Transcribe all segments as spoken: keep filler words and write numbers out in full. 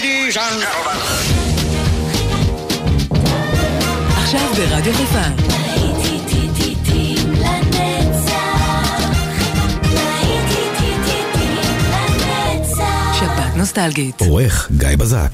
Ladies and gentlemen. עכשיו ברדיו חיפה. שבת נוסטלגית. עורך גיא בזק.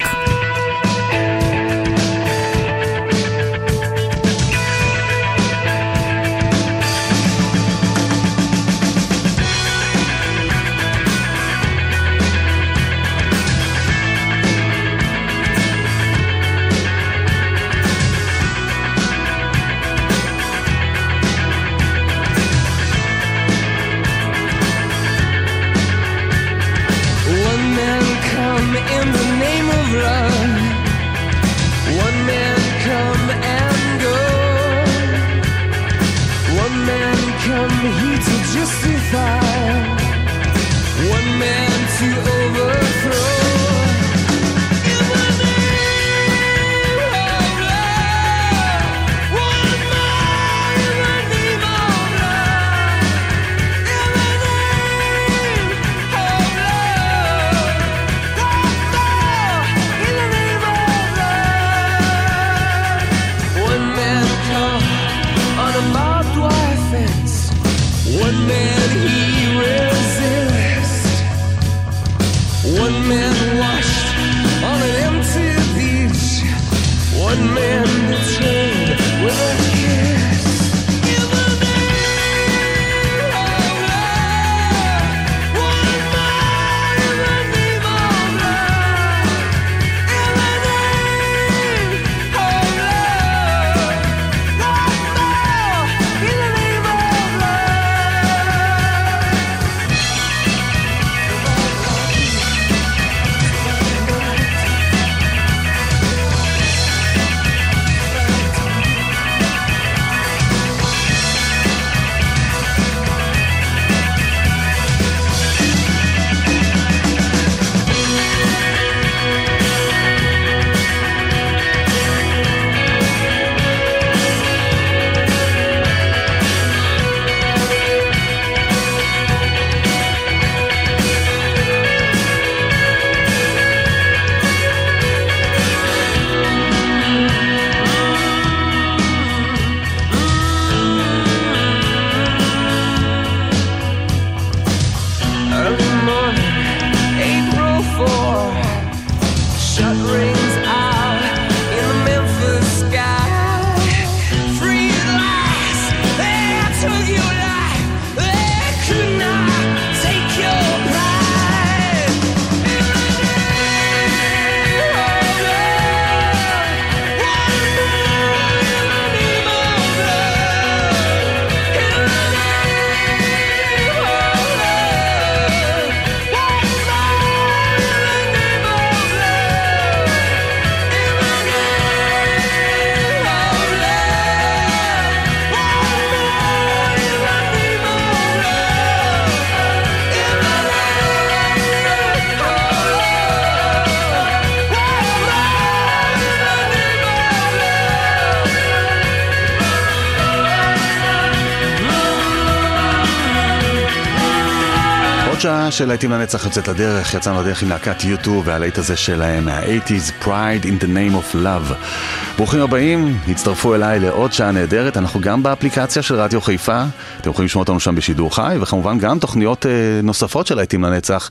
שעה של להיטים לנצח יוצאת לדרך, יצאנו לדרך עם להקת יו טו והלהיט הזה שלהם מה-שמונים, Pride in the Name of Love. ברוכים הבאים, הצטרפו אליי לעוד שעה נהדרת, אנחנו גם באפליקציה של רדיו חיפה, אתם יכולים לשמוע אותנו שם בשידור חי, וכמובן גם תוכניות אה, נוספות של להיטים לנצח,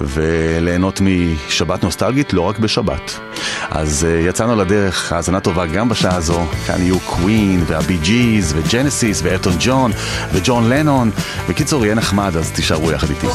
וליהנות משבת נוסטלגית, לא רק בשבת. אז אה, יצאנו לדרך, האזנה טובה גם בשעה הזו, כאן יהיו קווין והבי ג'יז וג'נסיס ואלטון ג'ון וג'ון לנון, בקיצור יהיה נחמד, אז תישארו יחד איתי.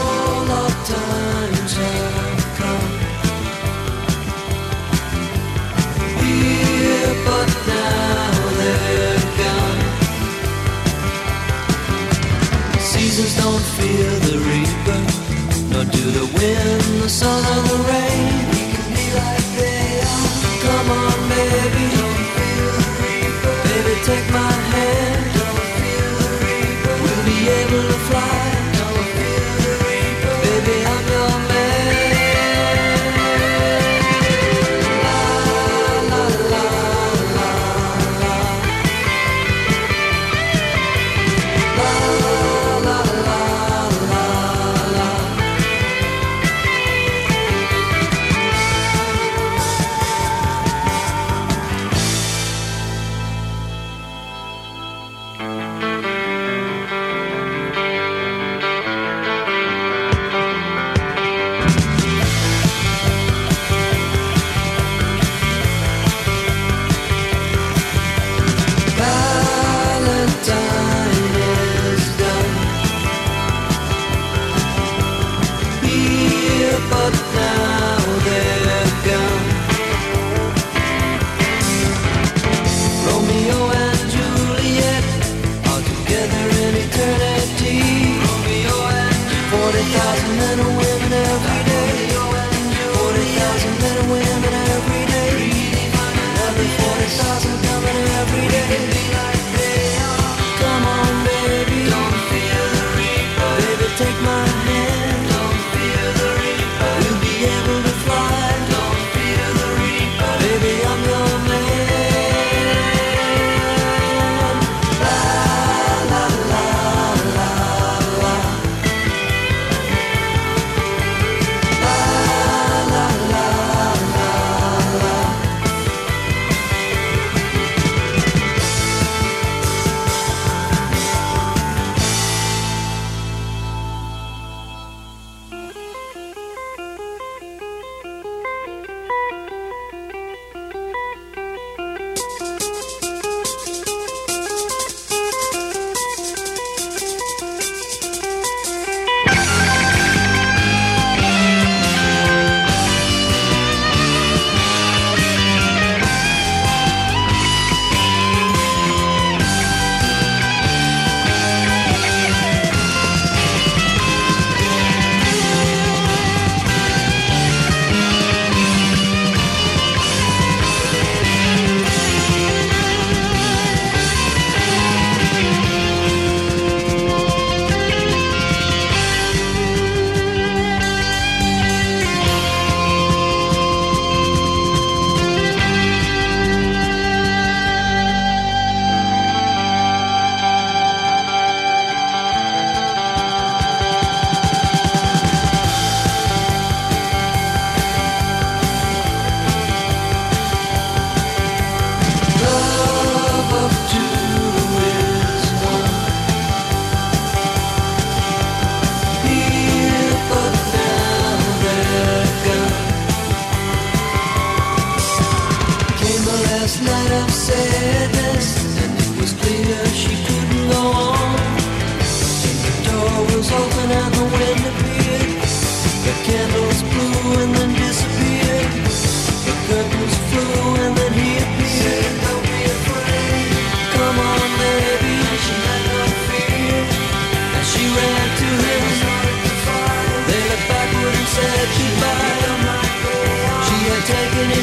Don't fear the reaper, nor do the wind, the sun or the rain. We can be like they are. Come on, baby, don't fear the reaper. Baby, take my hand. Don't fear the reaper. We'll be able to fly. Don't fear the reaper. Baby, I'm your man. La la la la la. La la.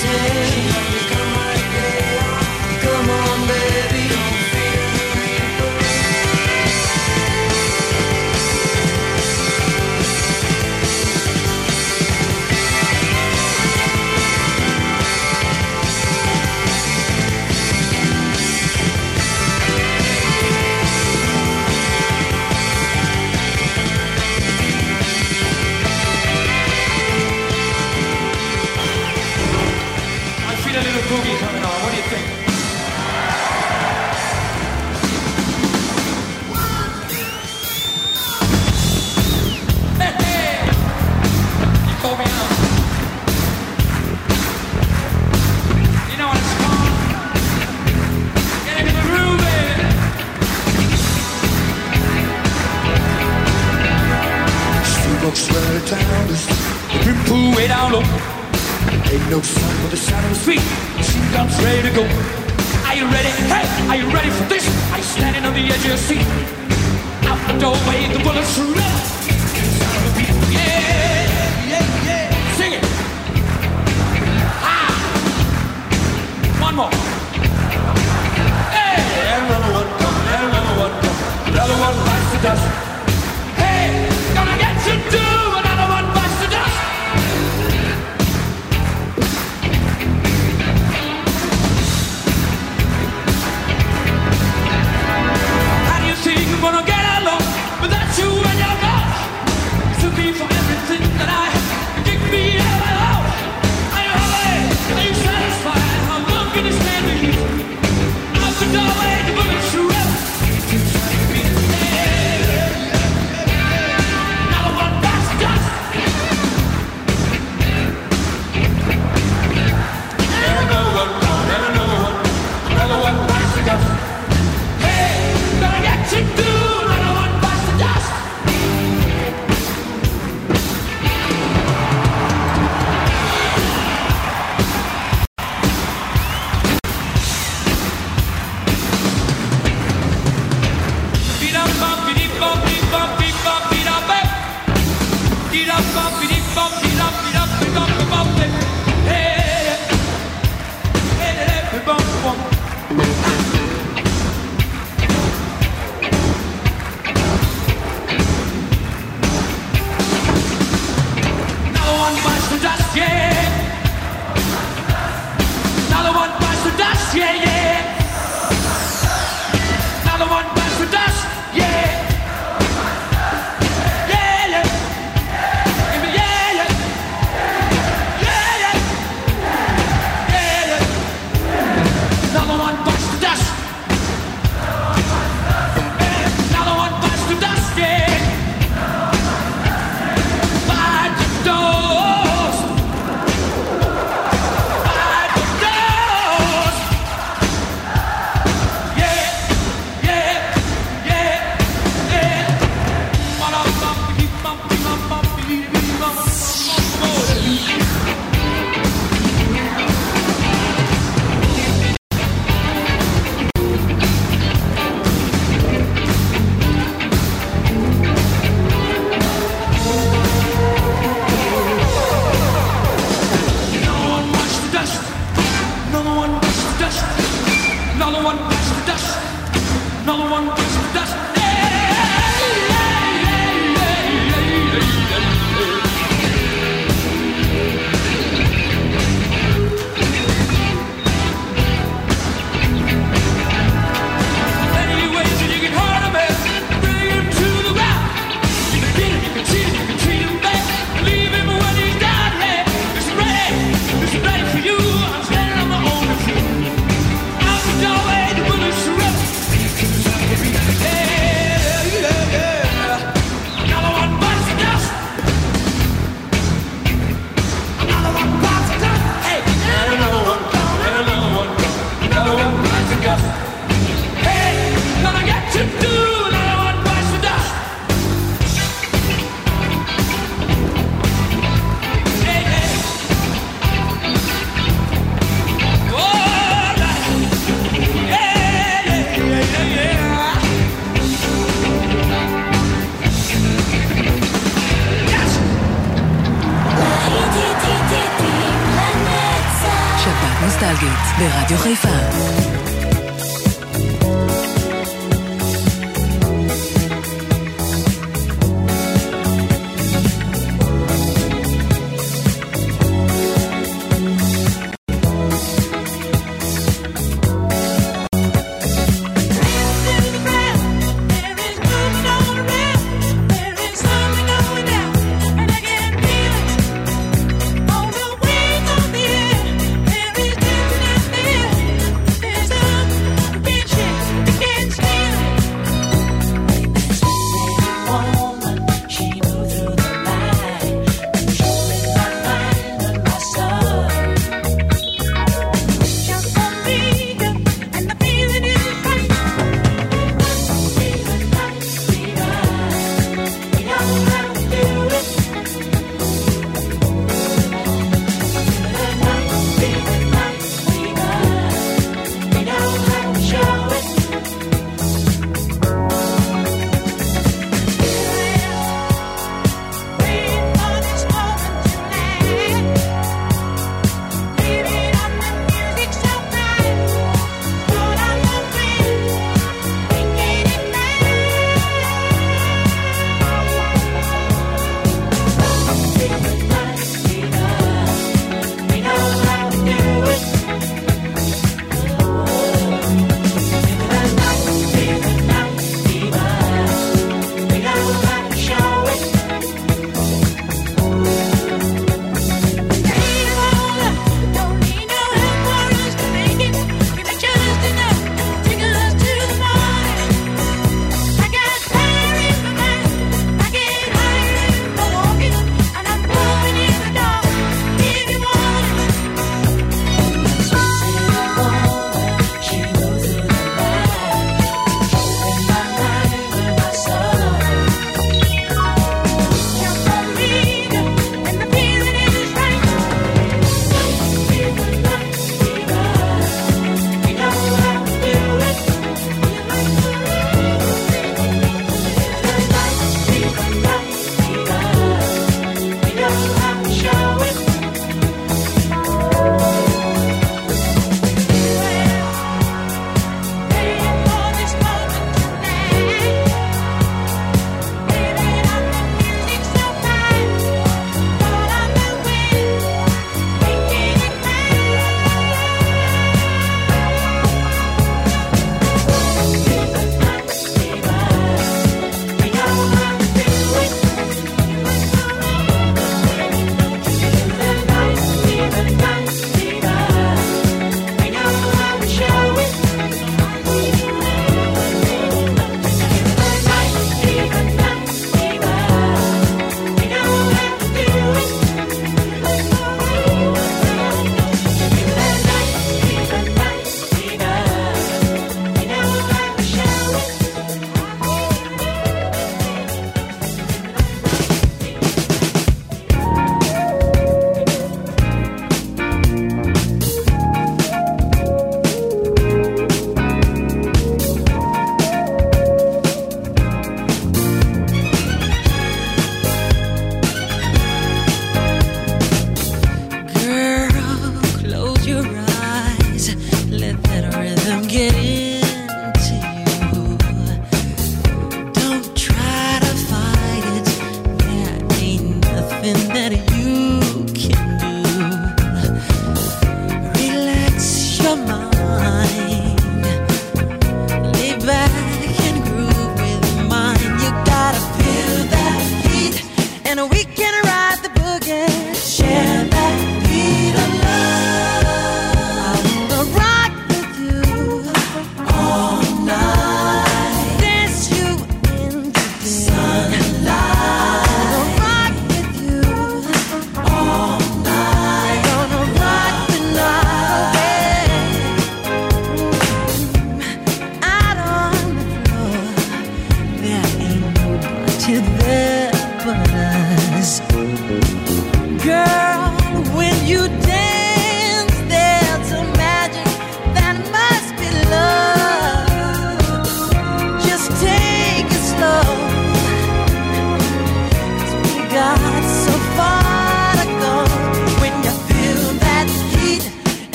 pretend. Come like they are. Come on, baby. A little boogie coming on. What do you think? Hey, hey! You called me out. You know what it's called? Get into the groove, baby. Street walks right down the street. Been pull way down low. Ain't no sun with the sound of the Sweet, machine guns ready to go. Are you ready? Hey, are you ready for this? Are you standing on the edge of your seat? Out the doorway, the bullets are ready. Sound of the beat. Yeah, yeah, yeah. Sing it. Ah. One more. Hey, another one come, another one come. Another one bites the dust. Hey, gonna get you too. Another one bites the dust. Think I'm gonna get along without you and your love. To be for everything נוסטלגית ברדיו חיפה. There's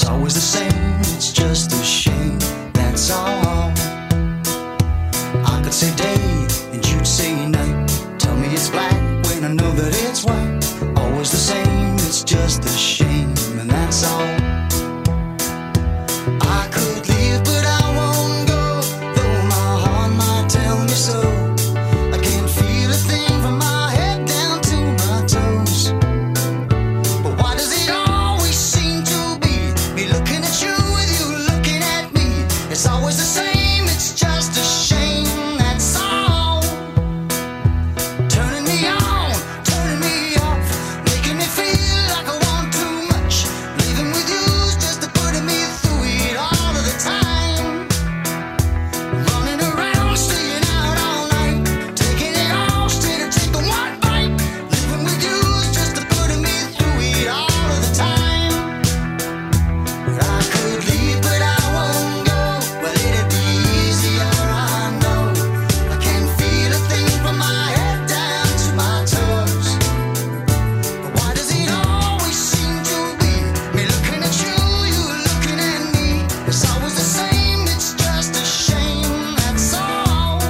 always the same, it's just a shame, that's all. I could say day and you'd say night. Tell me it's black when I know that it's white. Always the same, it's just a shame, and that's all. I could leave but I won't go, though my heart might tell me so. I can't feel a thing from my head down to my toes. But why does it always seem to be me looking at you with you looking at me? It's always the same, it's just a shame, that's all. Turning me on, turning me off, making me feel like I want too much. Leaving with you's just to putting me through it all of the time. Running around, staying out all night, taking it all straight or taking one bite. Living with you's just to putting me through it all of the time. But I could leave, but I won't go. Well, it'd be easier, I know. I can't feel a thing from my head down to my toes. But why does it always seem to be me looking at you, you looking at me? It's always the same, it's just a shame, that's all.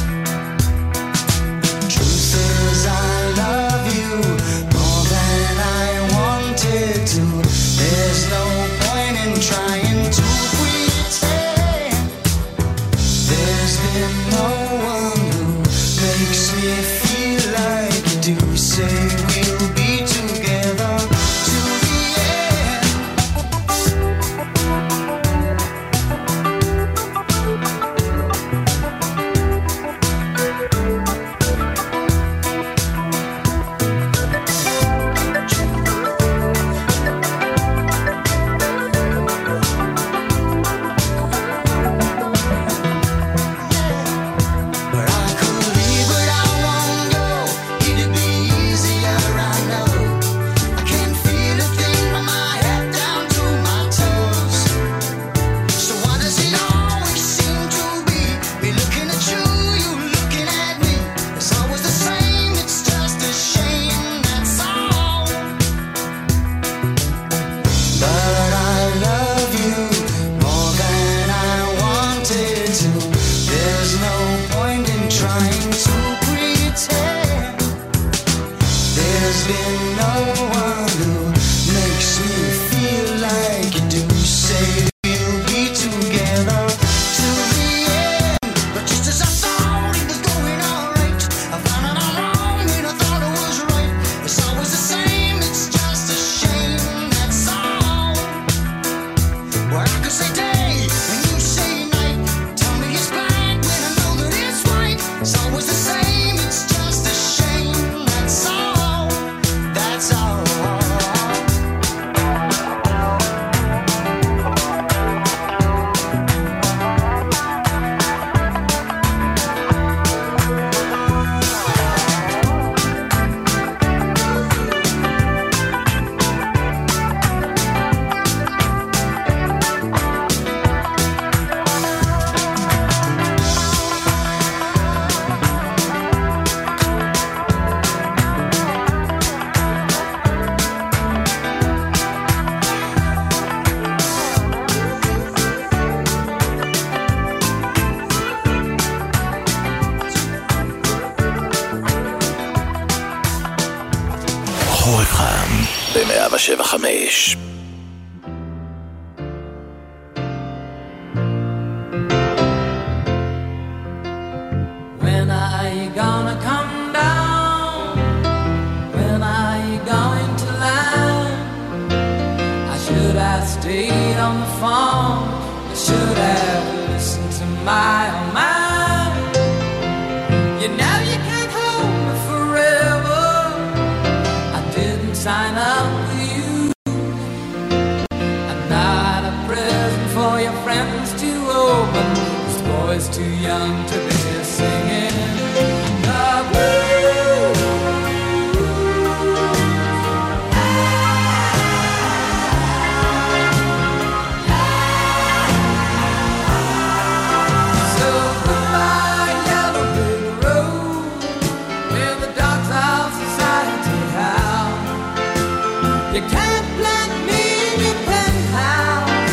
Truth is I love you more than I wanted to. There's no point in trying to pretend. There's been no one who makes me feel like you do. Say we'll be together to the end. But I could leave, but I won't go. It'd be easier, I know. I can't feel a thing from my head down to my toes. So why does it always seem to be me looking at you, you looking at me? It's always the same, it's just a shame, that's all. But I love you more than I wanted to. There's no point in trying to pretend. There's been no one who makes me feel like you do. Say we'll be together to the end. But just as I thought it was going alright, I found out I'm wrong when I thought it was right. It's always the same, it's just a shame, that's all. Well, I could say day and you say night. Tell me it's black when I know that it's white. It's always the same, it's just a shame, that's all. That's all. חורף חם ב-מאה שבע חמש. When are you gonna come down? When are you going to land? I should have stayed on the phone. I should have listened to my own mind. You know you can't hold me forever. I didn't sign up with you. I'm not a present for your friends to open. This boy's too young to be singing the blues. So goodbye, yellow brick road, where the dogs of society howl. You can't plant me in your penthouse.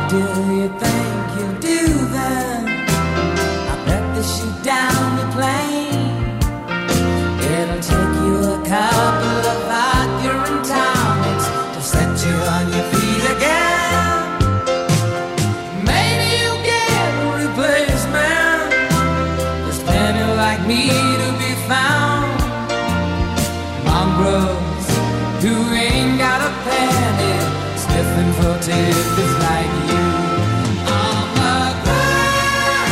do you think you do then? I bet they shoot down the plane. It'll take you a couple of hours, you're in town. It's to set you on your feet again. Maybe you'll get a replacement. There's plenty like me to be found. Mongrels who ain't got a penny, sniffing for tickets like you. On the ground.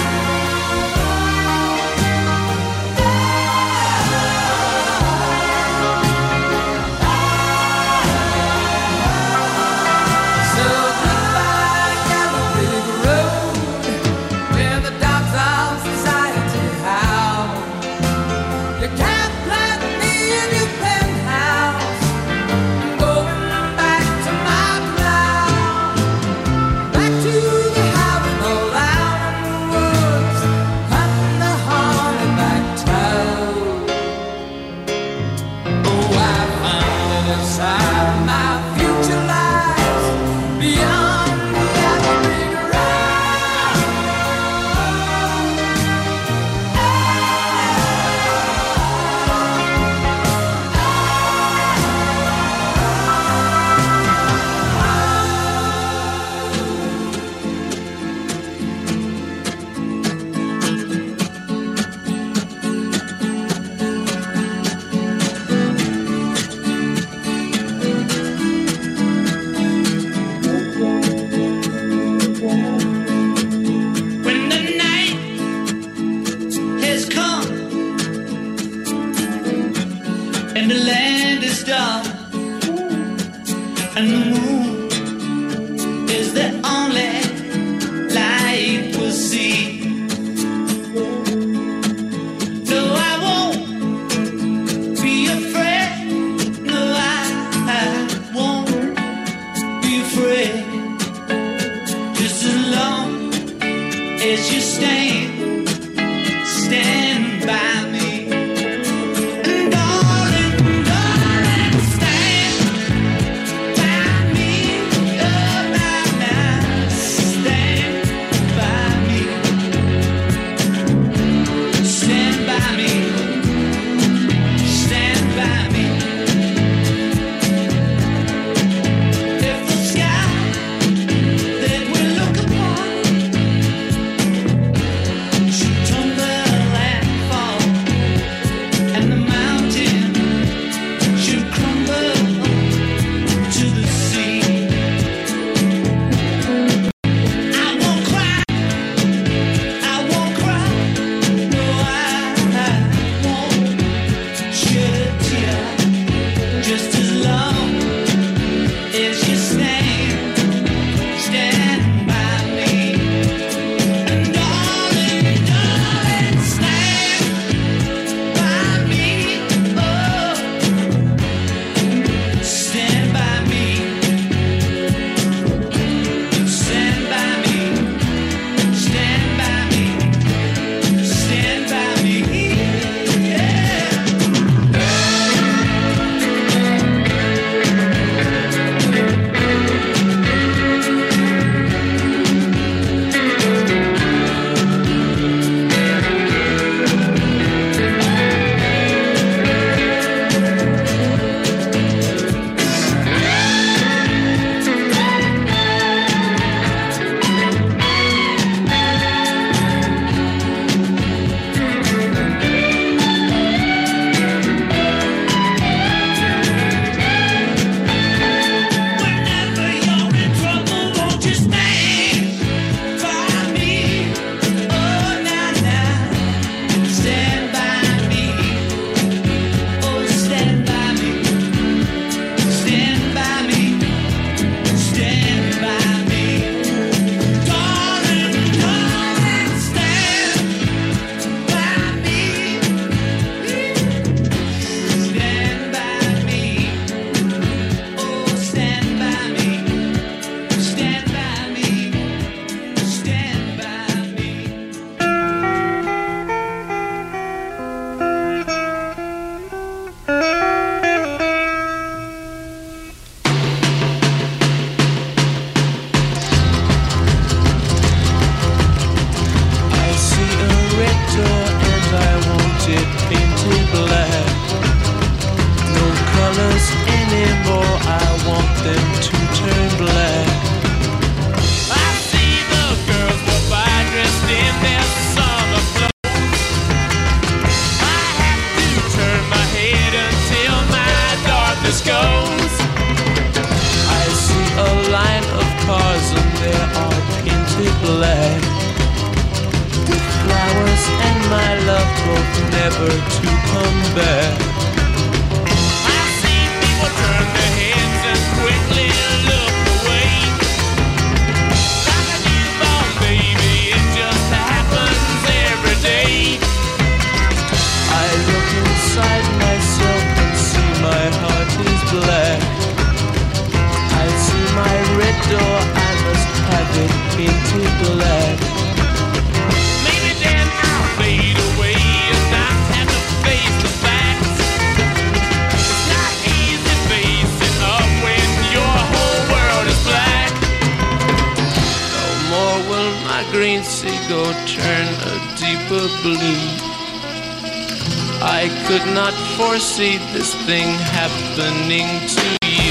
So goodbye, yellow brick road, where the dogs of society howl. You can't plant me in your penthouse. Going back to my plow, back to the house all out in the woods, cutting the hornback toad. Oh, I found it inside my future lies beyond the yellow brick road. When the night has come and the land is dark and the moon is the only light we'll see. No, I won't be afraid. No, I, I won't be afraid. Just as long as you stand, stand by me. And darling, darling, stand by me. black. I see my red door, I must have it painted black. Maybe then I'll fade away and not have to face the facts. It's not easy facing up when your whole world is black. No more will my green seagull turn a deeper blue. I could not foresee this thing happening to you.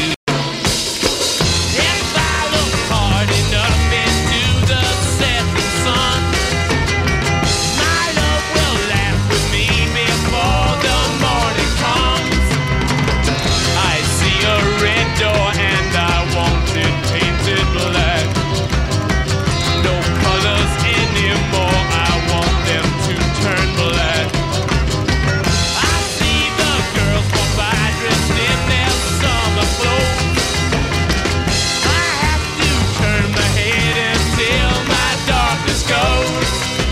If I look hard enough into the setting sun, my love will laugh with me before the morning comes. I see a red door and I want it painted black. No colors anymore, I want them to turn black. I see the girls walk by dressed in their summer clothes. I have to turn my head until my darkness goes.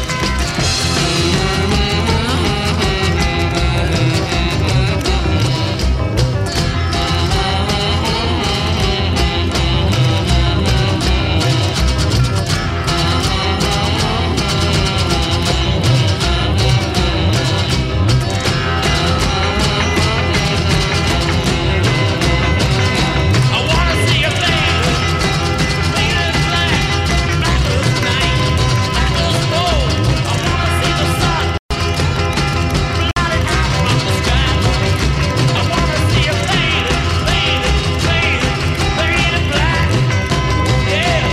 I wanna see a thing, clean as black, black as night, black as gold. I wanna see the sun, blotted out from the sky. I wanna see a thing, clean, clean, clean as black, yeah.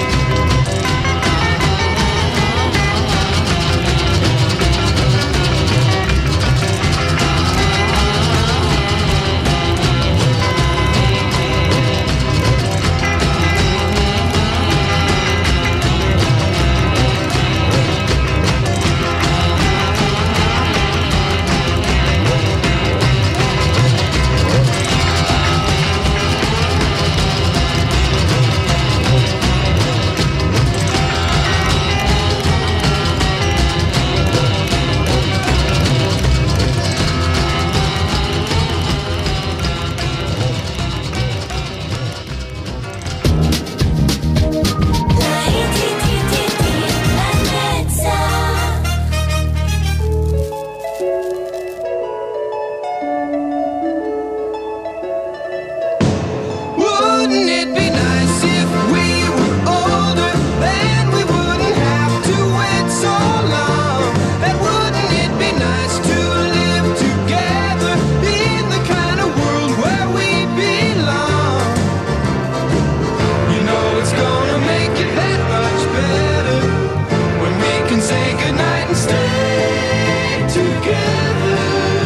Wouldn't it be nice if we were older? Then we wouldn't have to wait so long. And wouldn't it be nice to live together in the kind of world where we belong? You know it's gonna make it that much better when we can say goodnight and stay together.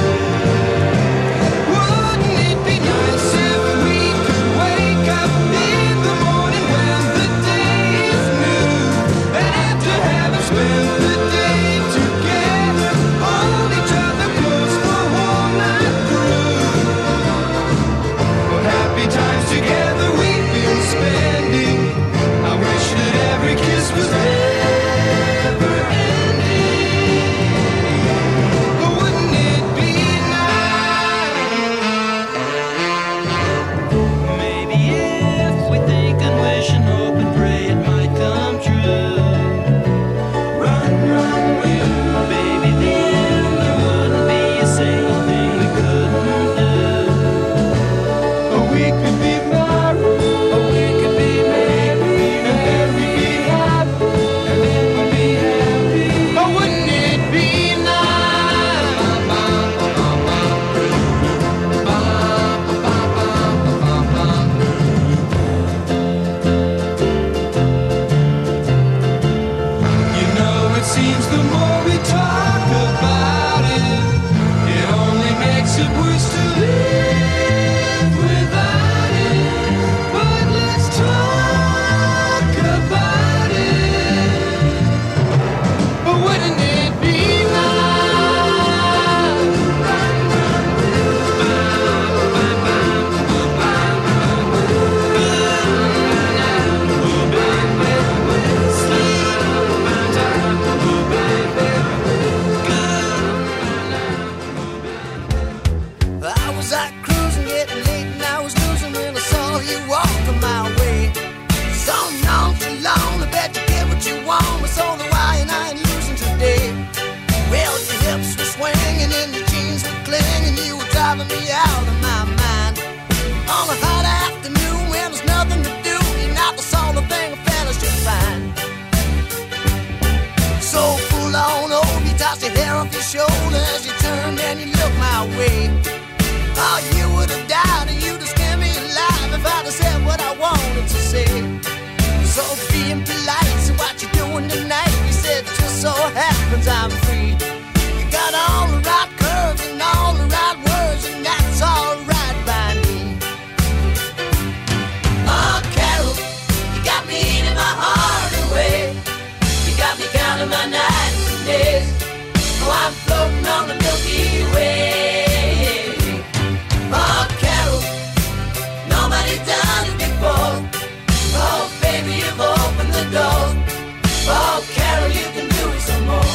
Wouldn't it be nice if we could wake up in the morning when the day is new, and after having spent the day together, hold each other close for one night through? What happy times together we've been spending. I wish that every kiss was never ending. But wouldn't it be nice? Maybe if we think and wish and hope and pray it might come true. Run, run, will, baby, then there wouldn't be a single thing we couldn't do. Or we could be married, or we could be married, and then we'd be happy, and then we'd be happy. Or wouldn't it be You know, it seems the more we talk about it, it only makes it worse to live without it. But let's talk about it. But wouldn't it be I was out cruising, getting late, and I was and you look my way. Oh, you would have died and you'd have scared me alive if I'd have said what I wanted to say. So being polite, so what you doing tonight? You said just so happens I'm free. You got all the right curves and all the right words, and that's all right by me. Oh, Carol, you got me eating my heart away. You got me counting my nights and days. Oh, I'm floating on the Milky Way. Oh, Carol, nobody's done it before. Oh, baby, you've opened the door. Oh, Carol, you can do it some more.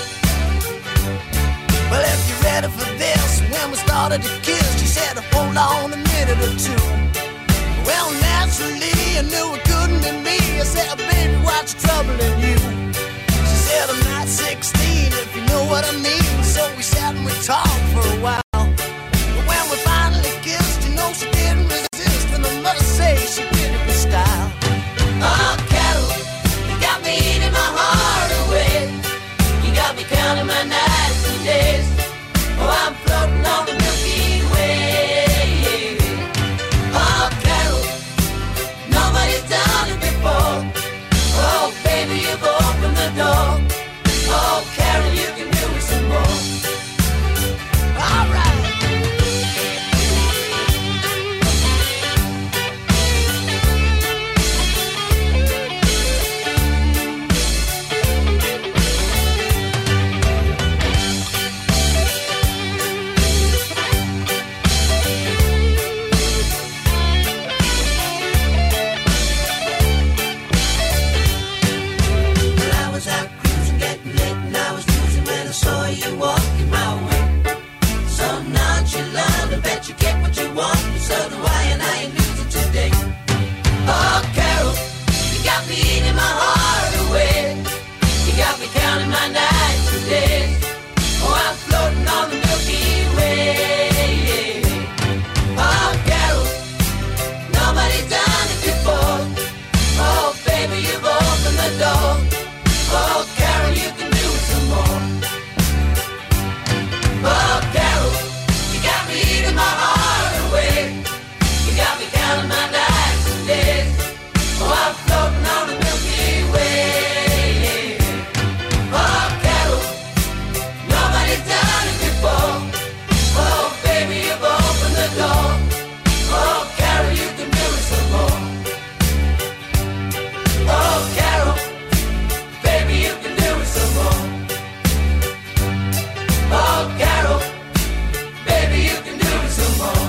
Well, if you're ready for this, when we started to kiss, she said, hold on a minute or two. Well, naturally, I knew it couldn't be me. I said, baby, what's troubling you? She said, I'm not sixteen, if you know what I mean. So we sat and we talked for a while. But when we finally kissed, you know she didn't resist, and I must say she did it with style. Oh, Carol, you got me eating my heart away. You got me counting my nights and days. Oh, I'm floating on the Milky Way. Oh, Carol, nobody's done it before. Oh, baby, you've opened the door. Oh, Carol, you can do it some more. All right. You walking my way, so nonchalant. I bet you get what you want, so do I, and I ain't losing today. Oh, Carol, you got me eating my heart away. You got me counting my nights and days. Oh, I'm floating on the Milky Way. Oh, Carol, nobody's done it before. Oh, baby, you've opened the door. Oh, Carol, you can do it some more. Oh, Carol, you got me eating my heart away. You got me counting my nights and days. Oh, I'm floating on the Milky Way. Oh, Carol, nobody's done it before. Oh, baby, you've opened the door. Oh, Carol, you can do it some more. Oh, Carol, baby, you can do it some more. Oh, Carol, baby, you can do it some more.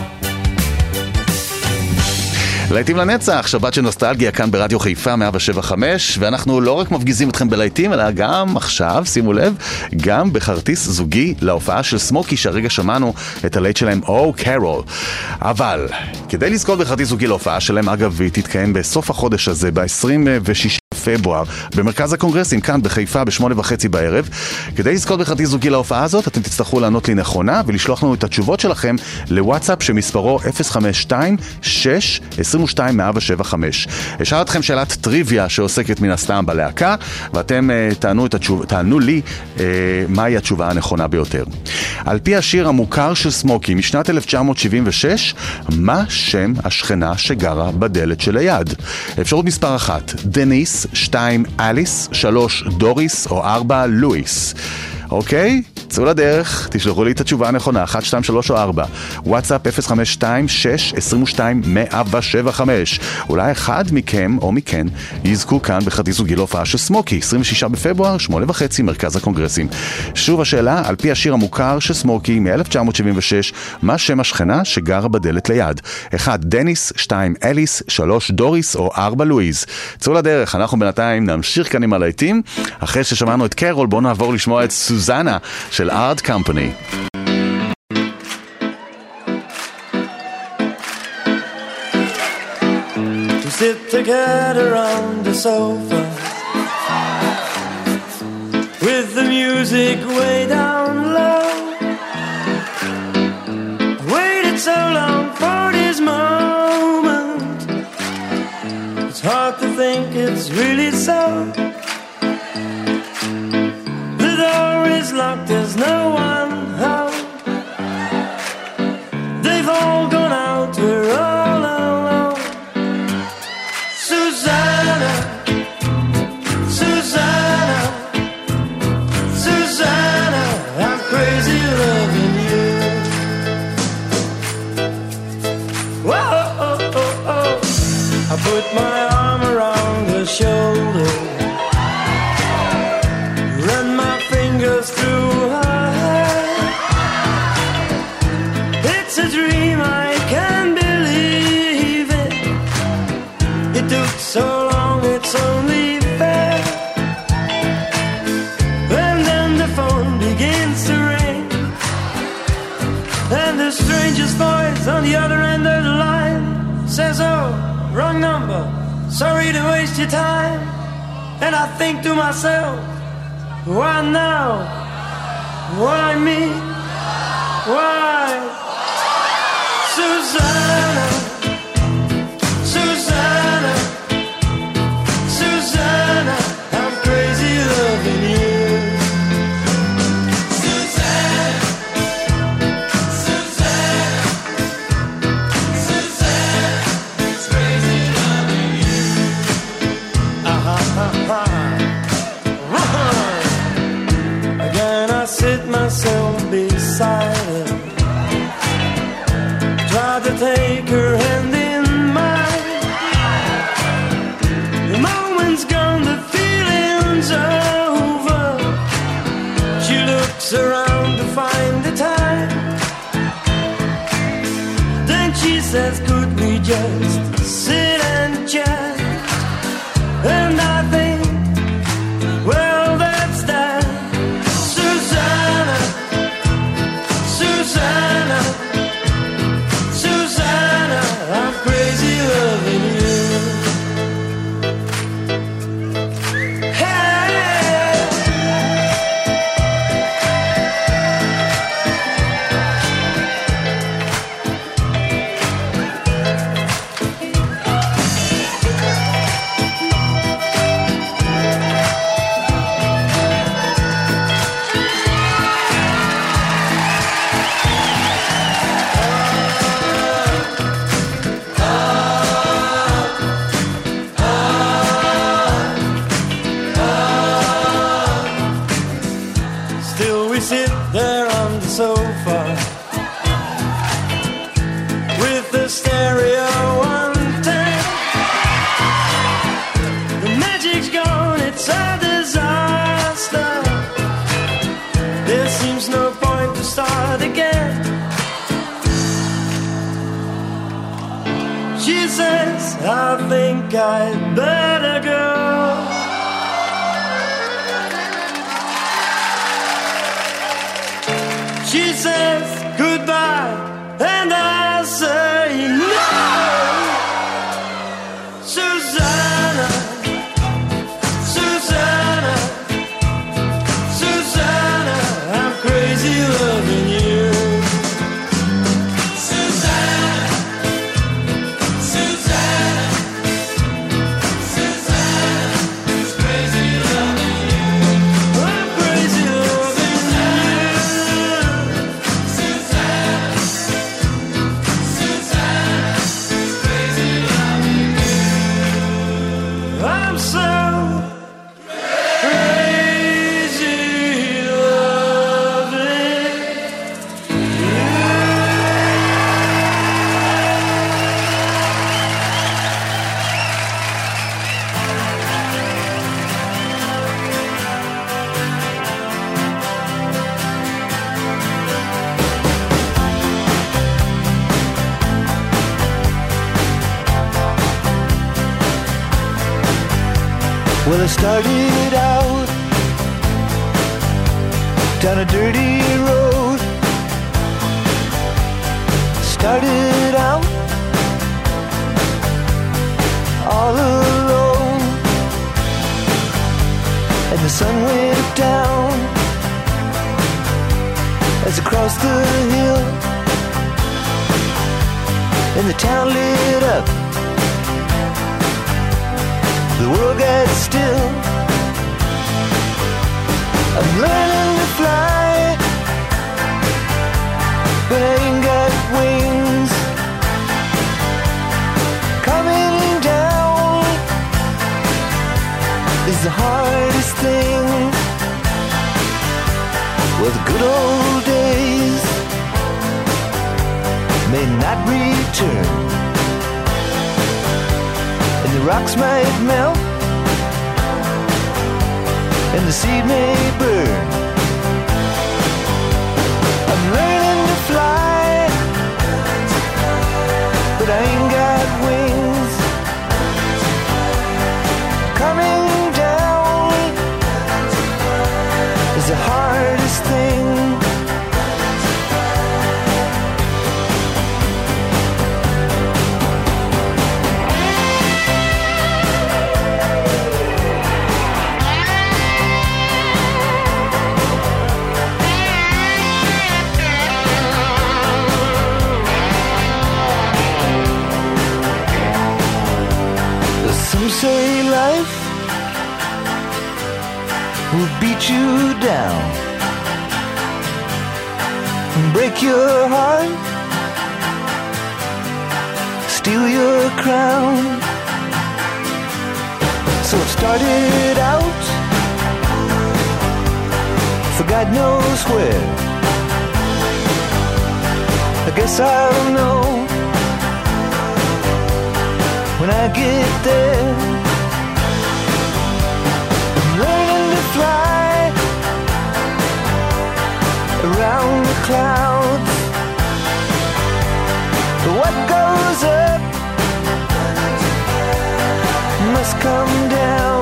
להיטים לנצח, שבת של נוסטלגיה כאן ברדיו חיפה מאה שבע חמש, ואנחנו לא רק מפגיזים אתכם בלהיטים, אלא גם עכשיו, שימו לב, גם בכרטיס זוגי להופעה של סמוקי, שהרגע שמענו את הלהיט שלהם, Oh Carol. אבל כדי לזכות בכרטיס זוגי להופעה שלהם, אגב, היא תתקיים בסוף החודש הזה, ב-עשרים ושישה בפברואר, במרכז הקונגרסים כאן בחיפה בשמונה וחצי בערב. כדי לזכות בכרטיס זוגי להופעה הזאת, אתם תצטרכו לענות לי נכונה ולשלוח לנו את התשובות שלכם לוואטסאפ שמספרו אפס חמש שתיים שש עשרים ושתיים מאה שבע חמש. אשאל אתכם שאלת טריוויה שעוסקת מן הסתם בלהקה, ואתם uh, תענו, את התשוב... תענו לי uh, מהי התשובה הנכונה ביותר. על פי השיר המוכר של סמוקי משנת אלף תשע מאות שבעים ושש, מה שם השכנה שגרה בדלת שליד? אפשרות מספר אחת, דניס, שתיים, אליס, שלוש, דוריס או ארבע, לואיס. אוקיי? צאו לדרך, תשלחו לי את התשובה הנכונה, אחת, שתיים, שלוש או ארבע. וואטסאפ אפס חמש שתיים שש עשרים ושתיים מאה שבע חמש. אולי אחד מכם או מכן יזכו כאן בכרטיס זוגי להופעה של סמוקי, עשרים ושישה בפברואר, שמונה וחצי, מרכז הקונגרסים. שוב השאלה, על פי השיר המוכר של סמוקי מ-אלף תשע מאות שבעים ושש, מה שם השכנה שגרה בדלת ליד? אחד, דניס, שתיים, אליס, שלוש, דוריס או ארבע, לואיז. צאו לדרך, אנחנו בינתיים נמשיך כאן עם הלהיטים. אחרי ששמענו את קרול, בואו נעבור לשמוע את סוזנה של Art Company. To sit together on the sofa with the music way down low. I waited so long for this moment. It's hard to think it's really so. The door is locked, there's no one home. put my arm around her shoulder, run my fingers through her hair. It's a dream, I can't believe it. It took so long, it's only fair. And then the phone begins to ring, and the stranger's voice on the other end of the line says, oh, wrong number, sorry to waste your time. And I think to myself, why now? Why me? Why? Susanna, Susanna, Susanna, I'm crazy loving you. Susanna, Susanna, Susanna, it's crazy loving you. Ah-ha-ha-ha. Again I sit myself beside her, try to take her hand in mine. The moment's gone, the feeling's over. She looks around to find the time, then she says, could we just sit and chat? And I think, well, that's that. Susanna, Susanna, Susanna, I'm crazy loving you. Hey. Still we sit there on the sofa with the stereo on ten. The magic's gone, it's a disaster. There seems no point to start again. She says, I think I'd better go. She says goodbye, and I say no. Susanna, Susanna, Susanna, I'm crazy loving you. Susanna, Susanna, Susanna, it's crazy loving you. I'm crazy loving you. I'm so crazy loving Well, I started out down a dirty road. Started out all alone, and the sun went down as I crossed the hill, and the town lit up. The world got still. I'm learning to fly, but I ain't got wings. Coming down is the hardest thing. Well, the good old days may not return, rocks might melt and the seed may burn. I'm learning to fly, but I ain't got wings. Coming down is the hardest thing. Some say life will beat you down and break your heart, steal your crown. So it started out for God knows where. I guess I'll know when I get there. I'm learning to fly around the clouds, but what goes up must come down.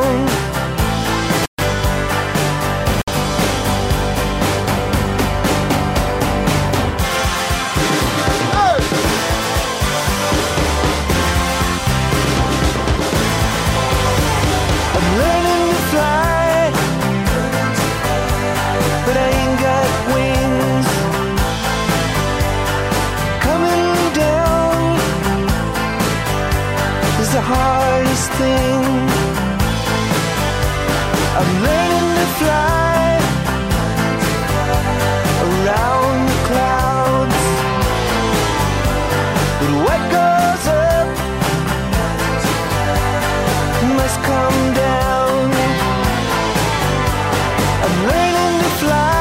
The hardest thing. I'm learning to fly around the clouds, but what goes up must come down. I'm learning to fly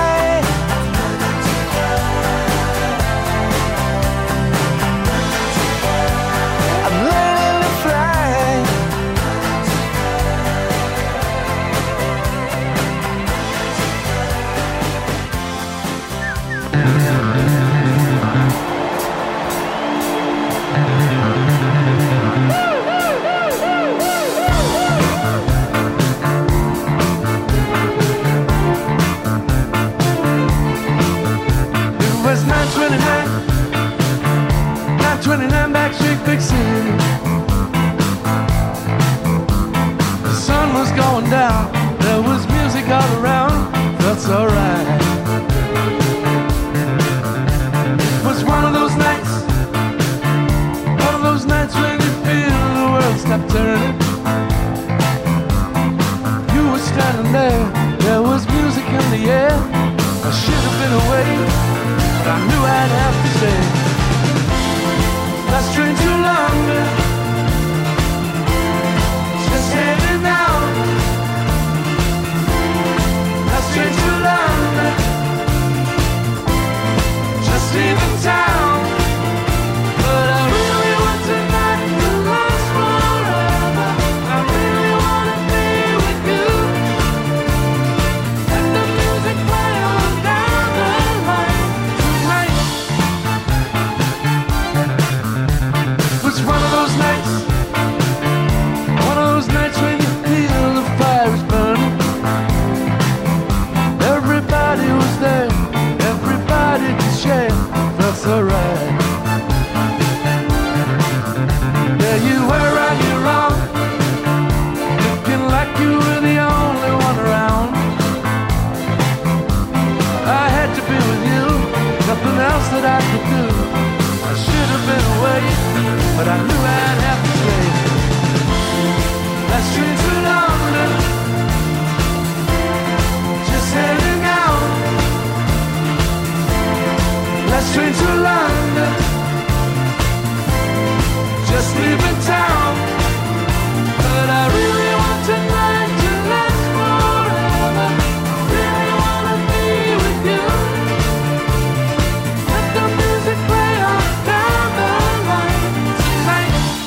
twenty-nine Backstreet Big City. The sun was going down, there was music all around, felt so right. It was one of those nights, one of those nights when you feel the world stop turning. You were standing there, there was music in the air. I should have been away, but I knew I'd have to stay. Last train to London, just heading out. Last train to London, just leaving town. But I really want tonight to last forever. I really want to be with you. Let the music play on down the line tonight. One of those nights, one of those nights when you feel the fire is burning. Everybody was there, everybody to share, felt so right. There you were on your own, looking like you were the only one around. I had to be with you, nothing else that I could do. I should have been away, but I knew I'd have to stay. Last train to London, just heading out. Last train to London, just leaving town. But I really want tonight to last forever. Really want to be with you. Let the music play on down the line tonight.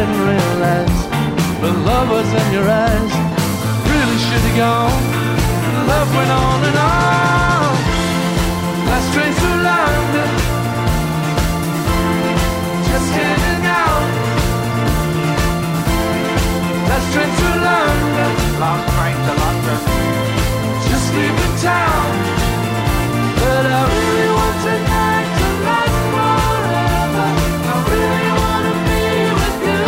didn't realize the love was in your eyes. Really should have gone. Love went on and on. Last train through London, just getting out. Last train through London, long train to London, just leaving town. But I really want tonight to last forever. I really want to be with you.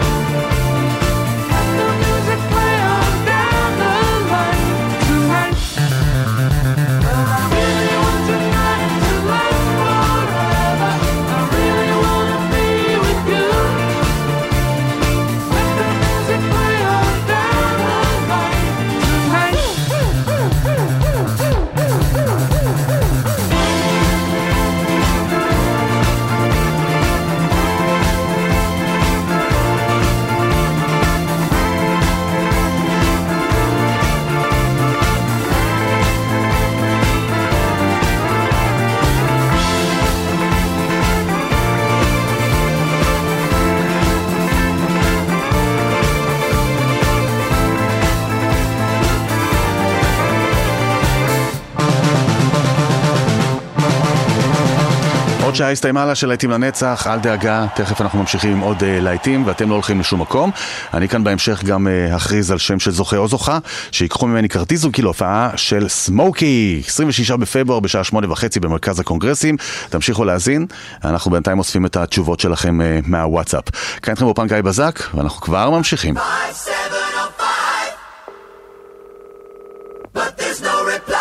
Let the music play on down the line tonight. But I really want tonight to last forever. I really want to be with you. Let the music play on down the line tonight. עוד שעה הסתיימה לה של להיטים לנצח, אל דאגה, תכף אנחנו ממשיכים עם עוד uh, להיטים ואתם לא הולכים לשום מקום. אני כאן בהמשך גם uh, הכריז על שם של זוכה או זוכה, שיקחו ממני כרטיס זוגי להופעה של סמוקי, עשרים ושישה בפברואר בשעה שמונה וחצי במרכז הקונגרסים. תמשיכו להאזין, אנחנו בינתיים אוספים את התשובות שלכם uh, מהוואטסאפ. כאן איתכם באופן גיא בזק, ואנחנו כבר ממשיכים. But there's no reply.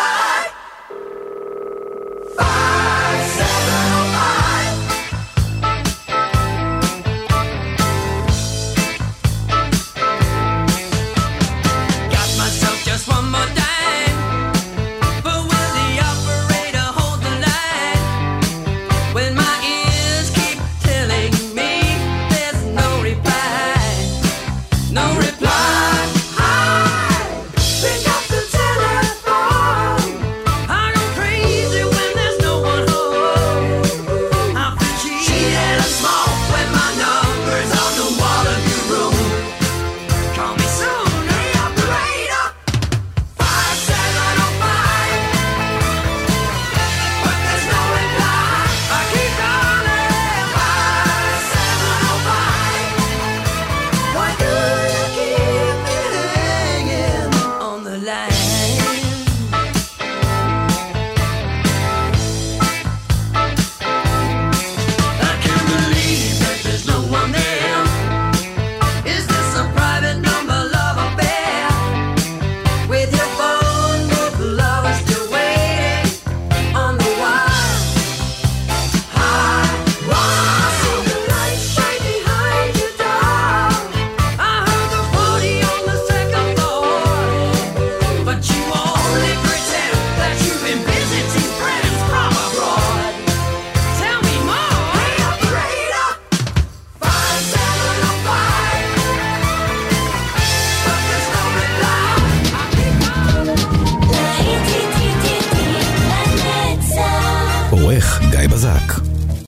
Got myself just one more dime, but will the operator hold the line when my ears keep telling me there's no reply, no reply.